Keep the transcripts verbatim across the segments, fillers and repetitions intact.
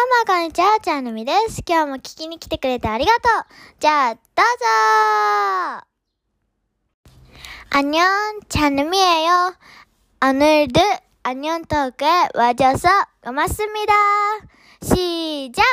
もこんにちは、ちゃんのみです。今日も聞きに来てくれてありがとう。じゃあ、どうぞ。안녕、ちゃんのみえよ。오늘도 안녕 토크에 와줘서 고맙습니다. 시작!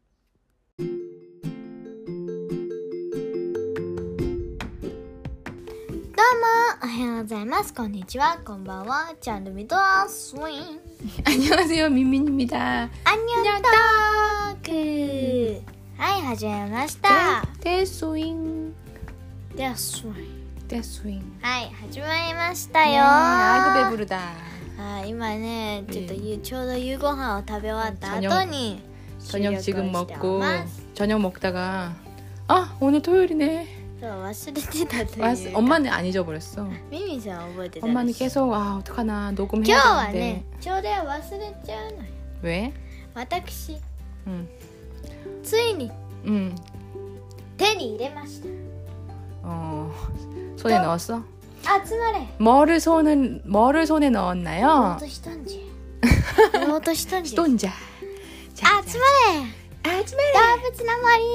どうも、おはようございます。こんにちは、こんばんは。ちゃんのみとスウィン。 안녕하세요, 민민입니다. 안녕トーク。はい、始めました。 데스윙 で、スウィン。 데스윙 はい、始まりましたよ。 네, 아이고 배부르다. はい、今ね、ちょっとゆちょうど夕ご飯を食べ終わった後 저녁, に 저녁 지금 収録をしており 먹고 ます。 저녁 먹다가 아 오늘 토요일이네. そう、忘れてたという 왔, 엄마는 안 잊어버렸어. ミミさん覚えてたらしい。 엄마는 계속 아 어떡하나 今 녹음해야 日は 되는데 ね、ちょうど忘れちゃうのよ。 왜? 私、 응, ついに 응, 手に入れました。 어 손에 넣었어? 集まれ。 뭐를 손은 뭐를 손에 言お 넣었나요? うとしたんじゃ。言おうとしたんじゃ。 스톤자. 集まれ。 아즈메레. 動物の森。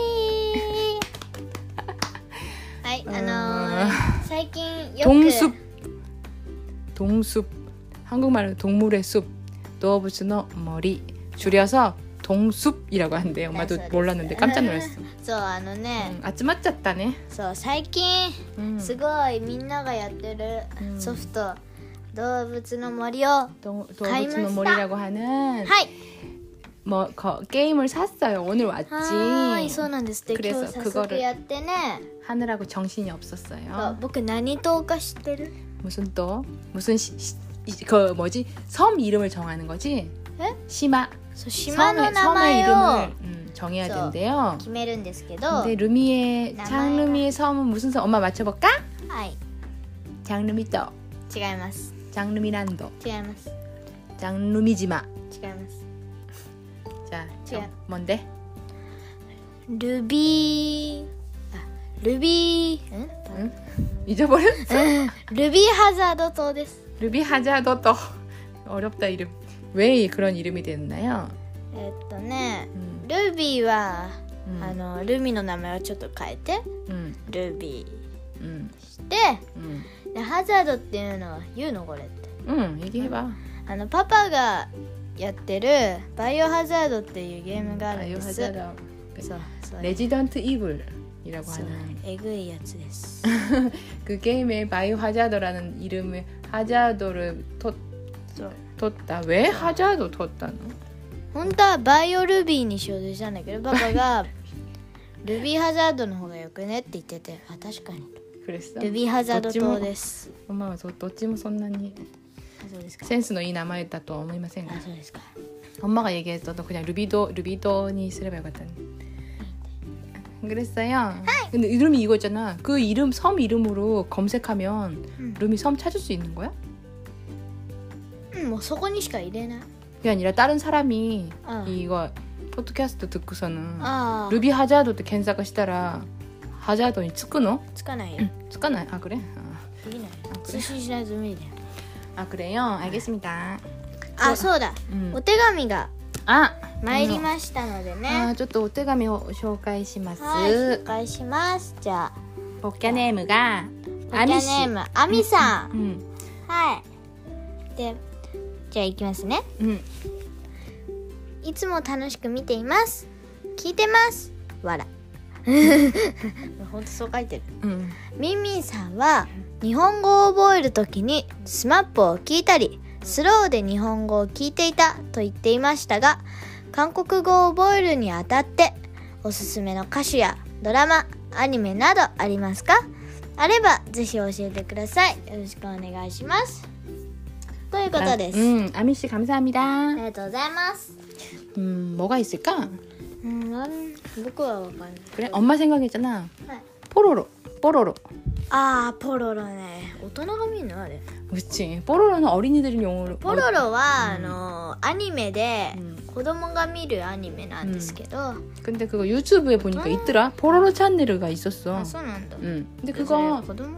はい、あのー、最近よく 동숲 동숲 한국말로 동물의 숲 도어부츠노 머리 줄여서 동숲이라고 한대요. 엄마도 네, 몰랐는데 깜짝 놀랐어. そうあのね、 응, 아츠마짜다네. そう最近 응. すごいみんながやってるうんソフト、動物の森をは 도, 가이마시다. 도어부츠노 머리라고 하는 い 뭐 거, 게임을 샀어요. 오늘 は 왔지. ーい、そうなんですって。 그래서 今日早 그거를 速やってね。 하느라고 정신이 そう 없었어요. 僕何島か知ってる？ 무슨 또 무슨 시, 시, 그 뭐지 섬 이름을 정하는 거지? 에? 시마 そう島の 섬의, 名 섬의 前を 이름을 음, 정해야 저- 된대요. 決めるんですけど、 근데 루미의 나마에가- 장루미의 섬은 무슨 섬? 엄마 맞춰볼까? はい、 장루미도 違います。 장루미란도 違います。 장루미지마. 違います。 자, 자. 정, 뭔데? ルビー、あ、ルビー、ん？ 응? 잊어버렸어? ルビーハザード島です。 루비 하자도또 어렵다 이름. 왜 그런 이름이 됐나요? えっとね、 음, ルビーは、 음, あのルミの名前をちょっと変えて 음, ルビ 음, ーして、 음, でハザードっていうのは言うのこれって。 음, 얘기해봐. あのパパがやってるバイオハザードっていうゲームがあるんです。 바이오하자드. そうそれ 레지던트 이블이라고 そう 하는 えぐいやつです。 그 게임에 바이오하자드라는 이름의 하자드를 텄, そう 텄다. 왜 하자드 텄다노? 本当はバイオルビーにしようとしたんだけど、パパがルビーハザードの方がよくねって言ってて、あ、確かに 그랬어? ルビーハザード島です。 엄마가 저どっちも そんなにあ、そうですか。 센스의 이名前だと 思いませんがあ、そうですか。 엄마가 얘기했어도 그냥 루비도 루비도니 쓰레바 같다니. 그랬어요. 근데 이름이 이거잖아. 그 이름 섬 이름으로 검색하면 응. 루미 섬 찾을 수 있는 거야? うん、もうそこにしか入れない。 그게 아니라 다른 사람이 어. 이거 포드캐스트 듣고서는 ああ、 루비 하자도 때検索したら 하자도니 つくの? つかないよ。 つかない? 아 그래? 아, できない。 아 通 그래? 信しないと無理だよ。 아 그래요? 알겠습니다. あ、そうだ。 음. お手紙が 아 参りましたのでね。 아, ちょっとお手紙を紹介します。 はい、紹介します。じゃあ、 ポッキャネームがポッキャネームアミさん。 うんはい。で、じゃあ行きますね。 うんいつも楽しく見ています。聞いてます。わら。ほんとそう書いてる。 うんミンミンさんは日本語を覚えるときにスマップを聞いたりスローで日本語を聞いていたと言っていましたが、韓国語を覚えるにあたっておすすめの歌手やドラマ、アニメなどありますか？あればぜひ教えてください。よろしくお願いします。ということです。 음, 아미 씨 감사합니다. ありがとうございます。 음, 뭐가 있을까? うん、なん僕はわかんない。 그래? 엄마 생각했잖아. はい、 뽀로로. 뽀로로. あー、ポロロね。大人が見るのあれ。 그렇지. 뽀로로는 어린이들은 용어로. ポロロは、 うんあのアニメで、 うん子供が見るアニメなんですけど、 근데 그거 유튜브에 보니까 아. 있더라. 뽀로로 채널가 있었어. あ、そうなんだ。 응. 근데 それ 그거 子供じ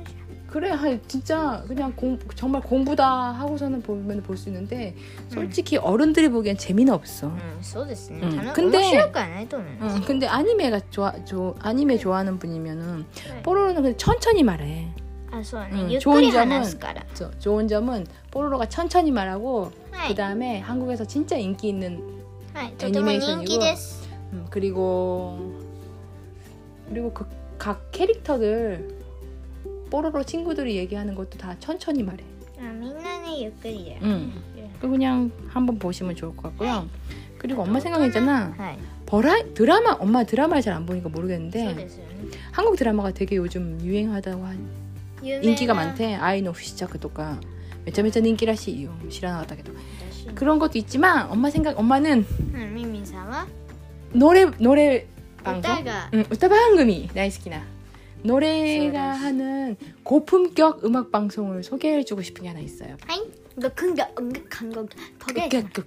그래, 하, 진짜 그냥 공, 정말 공부다 하고서는 보면 볼 수 있는데 솔직히 음. 어른들이 보기엔 재미는 없어. 음, そうですね. 음. 근데面白くはないと思います. 음, 근데 아니메가 좋아, 조, 아니메 좋아하는 분이면은 네. 뽀로로는 그냥 천천히 말해. 아, そうね. 음, 좋은 점은 저, 좋은 점은 뽀로로가 천천히 말하고 네. 그 다음에 한국에서 진짜 인기 있는 네, 애니메이션이고 음, 그리고 그리고 그 각 캐릭터들 뽀로로 친구들이 얘기하는 것도 다 천천히 말해. 아, 민나는 유끌이야. 응. 그냥 한번 보시면 좋을 것 같고요. 그리고 엄마 생각했잖아. 버라 드라마 엄마 드라마를 잘 안 보니까 모르겠는데 한국 드라마가 되게 요즘 유행하다고 한 인기가 많대. 아이 노 시작とか めちゃめちゃ人気らしいよ. 知らなかったけど. 그런 것도 있지만 엄마 생각 엄마는 응, 미미さんは 노래 노래 방송? 응, 우타 방송이 大好きな 노래가 하는 고품격 음악 방송을 소개해주고 싶은 게 하나 있어요. 하이, 너 근데 음악한 거 거기에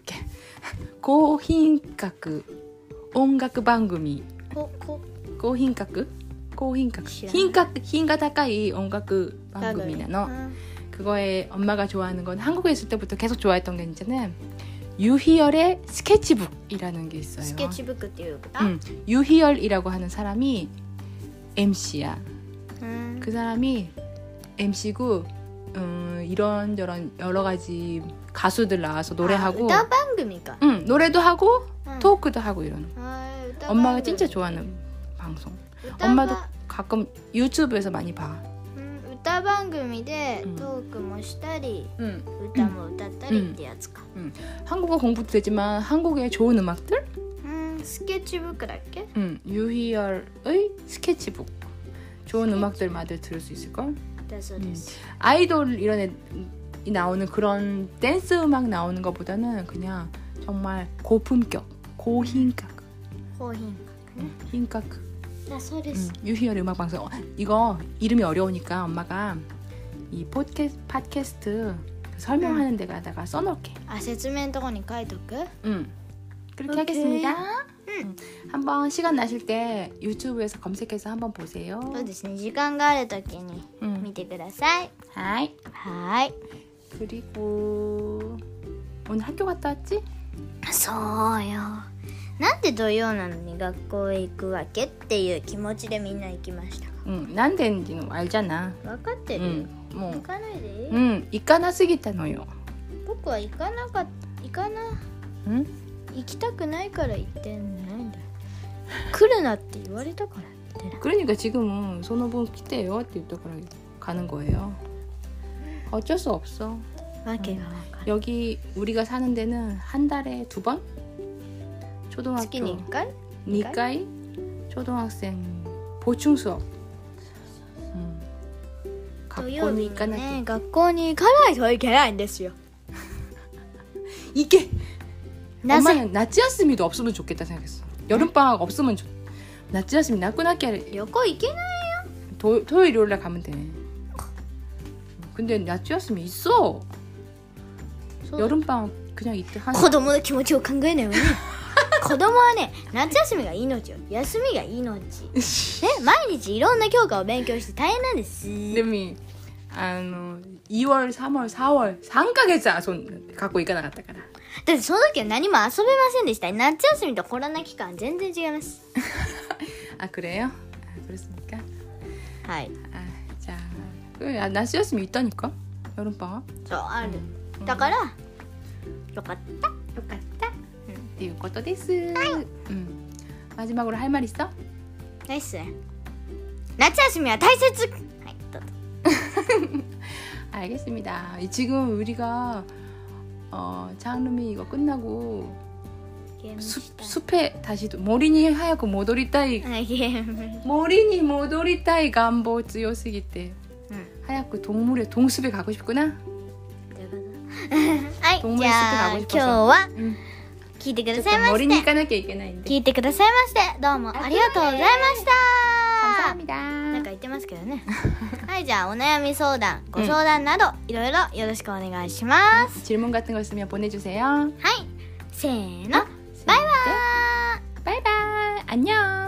고品格 음악 방송이 고, 고, 고品格 고品格 品格 品가高い 음악 방송이나 너 그거에 엄마가 좋아하는 건 한국에 있을 때부터 계속 좋아했던 게 있잖아요. 유희열의 스케치북이라는 게 있어요. 스케치북っていうこと? 응, 유희열이라고 하는 사람이 엠씨야. 음. 그 사람이 엠씨고 음, 이런저런 여러 가지 가수들 나와서 노래하고. 아, 방송인가? 응, 노래도 하고 응. 토크도 하고 이런. 아, 엄마가 진짜 좋아하는 방송. 엄마도 가끔 유튜브에서 많이 봐. 歌番組でトークもしたり、うん、歌も歌ったりってやつか、 うんうん、한국어 공부도 되지만 한국의 좋은 음악들? 음, 스케치북だっけ? 응, 유희열의 스케치북. 좋은 스케치. 음악들 많이 들을 수 있을걸? 음. 아이돌 이런 애 나오는 그런 댄스 음악 나오는 것보다는 그냥 정말 고품격, 고品格. 고品格. 응,品格. 응, 유희열의 음악 방송. 어, 이거 이름이 어려우니까 엄마가 이 팟캐스트, 팟캐스트 설명하는 응. 데가다가 써놓을게. 아, 설명とこに書いとく? 응. 그렇게 오케이. 하겠습니다. 응. 한번 시간 나실 때 유튜브에서 검색해서 한번 보세요. そうですね. 時間があるときに見てください. 하이. 하이. 그리고 오늘 학교 갔다 왔지? そうよ. なんで土曜なのに学校へ行くわけっていう気持ちでみんな行きました。 うん、なんでんじの알잖아。 分かってるよ。 うん、もう行かないでいい？ うん、行かなすぎたのよ。 僕は行かなかった行かな。 うん？ 行きたくないから行ってんないんだよ。来るなって言われたから行ってない。 그러니까 지금은 손오분 기대요って言ったから가는 거예요. 어쩔 수 없어. 訳が分かる。 여기 우리가 사는 데는 한 달에 두 번? 초등학교 月にいっかい? 이回? 초등학생 보충 수업. 음. 土曜日にね、学校に行かないといけないんですよ. 이게 엄마는夏休미도 없으면 좋겠다 생각했어. 여름방학 없으면 좋.夏休미 나꾸나끼 旅行行けないよ. 토요일 일요일날 가면 돼. 근데夏休미 있어. 여름방학 그냥 이때 한. 子供の気持ちを考えないわね. 子供はね、夏休みが命よ。休みが命。ね、毎日いろんな教科を勉強して大変なんです。 이름이 아, 이월, 삼월, 사월 삼ヶ月 손 갖고行かなかったから。 だってその時は何も遊べませんでした。夏休みとコロナ期間全然違います。 아, 그래요? 아, 그렇습니까? はい。 아, 자, 그夏休미 있다니까? 여름방학? そう、ある。だから、よかった。 よかった。っていうことです。はい。うん。마지막으로 할 말 있어? ないっすね。夏休みは大切。はい、どうぞ。 알겠습니다. 지금 우리가 어, 장르미 이거 끝나고 숲, 숲에 다시 모리니 하얗고 모도리타이 모리니 모도리타이 간보 強すぎて 응. 하얗고 동물의 동숲에 가고 싶구나. はい、じゃあ今日は聞いてくださいまして聞いてくださいましてどうもありがとうございました。なんか言ってますけどね。はい、じゃあお悩み相談、ご相談などいろいろよろしくお願いします。 질문 같은 거 있으면 보내주세요. はい、せーの、バイバーイ。 바이바이. 안녕.